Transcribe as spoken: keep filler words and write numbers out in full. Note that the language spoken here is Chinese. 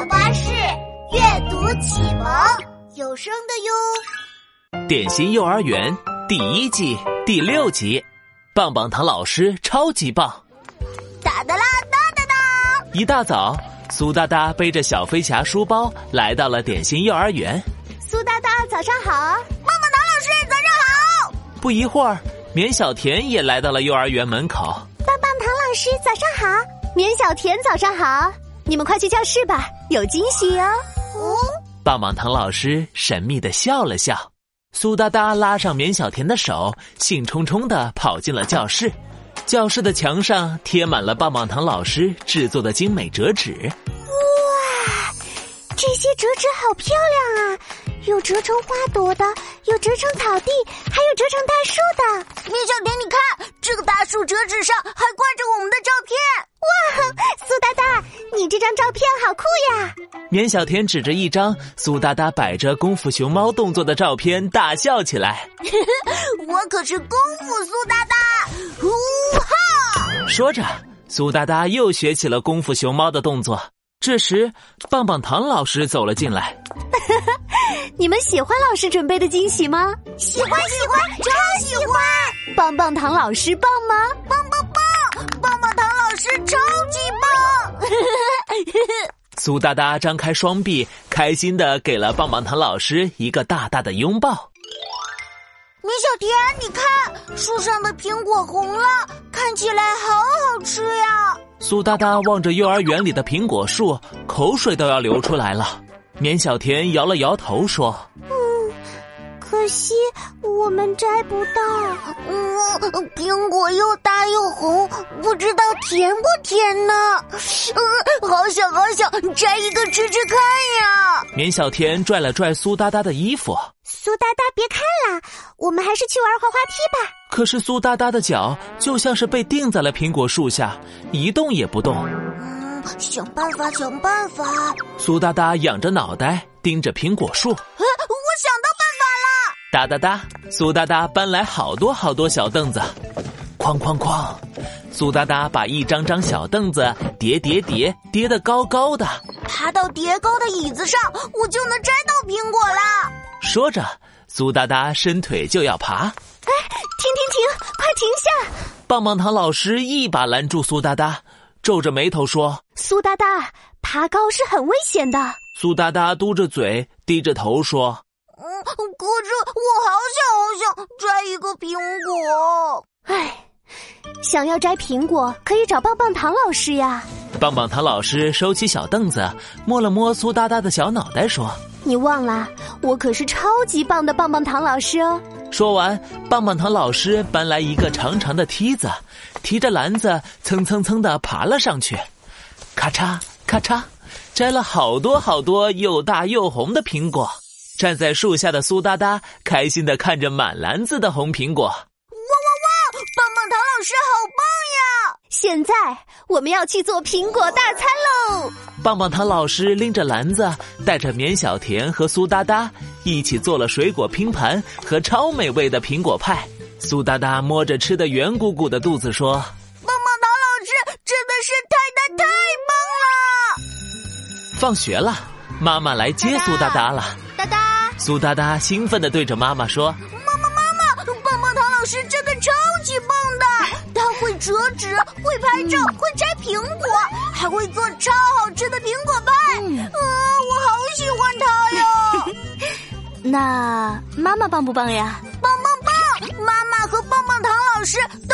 巴士阅读启蒙有声的哟。 点心幼儿园第一季第六集，棒棒糖老师超级棒！ 哒哒啦哒哒哒！ 一大早，苏哒哒背着小飞侠书包来到了点心幼儿园。 苏哒哒，早上好！棒棒糖老师，早上好！ 不一会儿，绵小甜也来到了幼儿园门口。 棒棒糖老师，早上好！绵小甜，早上好！你们快去教室吧，有惊喜哦！哦， 棒棒糖老师神秘地笑了笑。苏哒哒拉上绵小甜的手，兴冲冲地跑进了教室。教室的墙上贴满了棒棒糖老师制作的精美折纸。 哇，这些折纸好漂亮啊！有折成花朵的，有折成草地，还有折成大树的。绵小甜，你看，这个大树折纸上还挂着我们的照片。哇，苏哒哒，你这张照片好酷呀！ 绵小甜指着一张苏哒哒摆着功夫熊猫动作的照片大笑起来。 我可是功夫苏哒哒，呼哈！ 说着，苏哒哒又学起了功夫熊猫的动作。这时，棒棒糖老师走了进来。 你们喜欢老师准备的惊喜吗？喜欢喜欢，超喜欢！棒棒糖老师棒吗？棒棒棒！棒棒糖老师超级棒！ 苏哒哒张开双臂，开心地给了棒棒糖老师一个大大的拥抱。 绵小甜，你看，树上的苹果红了，看起来好好吃呀！ 苏哒哒望着幼儿园里的苹果树，口水都要流出来了。绵小甜摇了摇头说： 嗯，可惜我们摘不到。嗯，苹果又大又红，不知道甜不甜呢？嗯，好想好想摘一个吃吃看呀！ 绵小甜拽了拽苏哒哒的衣服。 苏哒哒，别看了，我们还是去玩滑滑梯吧。 可是苏哒哒的脚就像是被钉在了苹果树下，一动也不动。 嗯，想办法，想办法。 苏哒哒仰着脑袋盯着苹果树。 啊，我想到办法了！ 哒哒哒，苏哒哒搬来好多好多小凳子，哐哐哐，苏哒哒把一张张小凳子叠叠叠叠得高高的， 爬到叠高的椅子上，我就能摘到苹果啦！ 说着，苏哒哒伸腿就要爬。 哎，停停停，快停下！ 棒棒糖老师一把拦住苏哒哒，皱着眉头说： 苏哒哒，爬高是很危险的。 苏哒哒嘟着嘴，低着头说： 嗯，可是我好想好想摘一个苹果。唉，想要摘苹果可以找棒棒糖老师呀。 棒棒糖老师收起小凳子，摸了摸苏哒哒的小脑袋说： 你忘了，我可是超级棒的棒棒糖老师哦。 说完，棒棒糖老师搬来一个长长的梯子，提着篮子蹭蹭蹭地爬了上去。咔嚓咔嚓，摘了好多好多又大又红的苹果。站在树下的苏哒哒开心地看着满篮子的红苹果。哇哇哇，棒棒糖老师好棒呀！现在我们要去做苹果大餐喽！ 棒棒糖老师拎着篮子，带着绵小甜和苏哒哒一起做了水果拼盘和超美味的苹果派。苏哒哒摸着吃得圆鼓鼓的肚子说： 棒棒糖老师真的是太太太棒了！ 放学了，妈妈来接苏哒哒了。 哒哒， 苏哒哒兴奋地对着妈妈说： 妈妈妈妈，棒棒糖老师真的超级棒的，他会折纸，会拍照，会摘苹果，还会做超好吃的苹果派。嗯，啊，我好喜欢他哟。那妈妈棒不棒呀？棒棒棒！妈妈和棒棒糖老师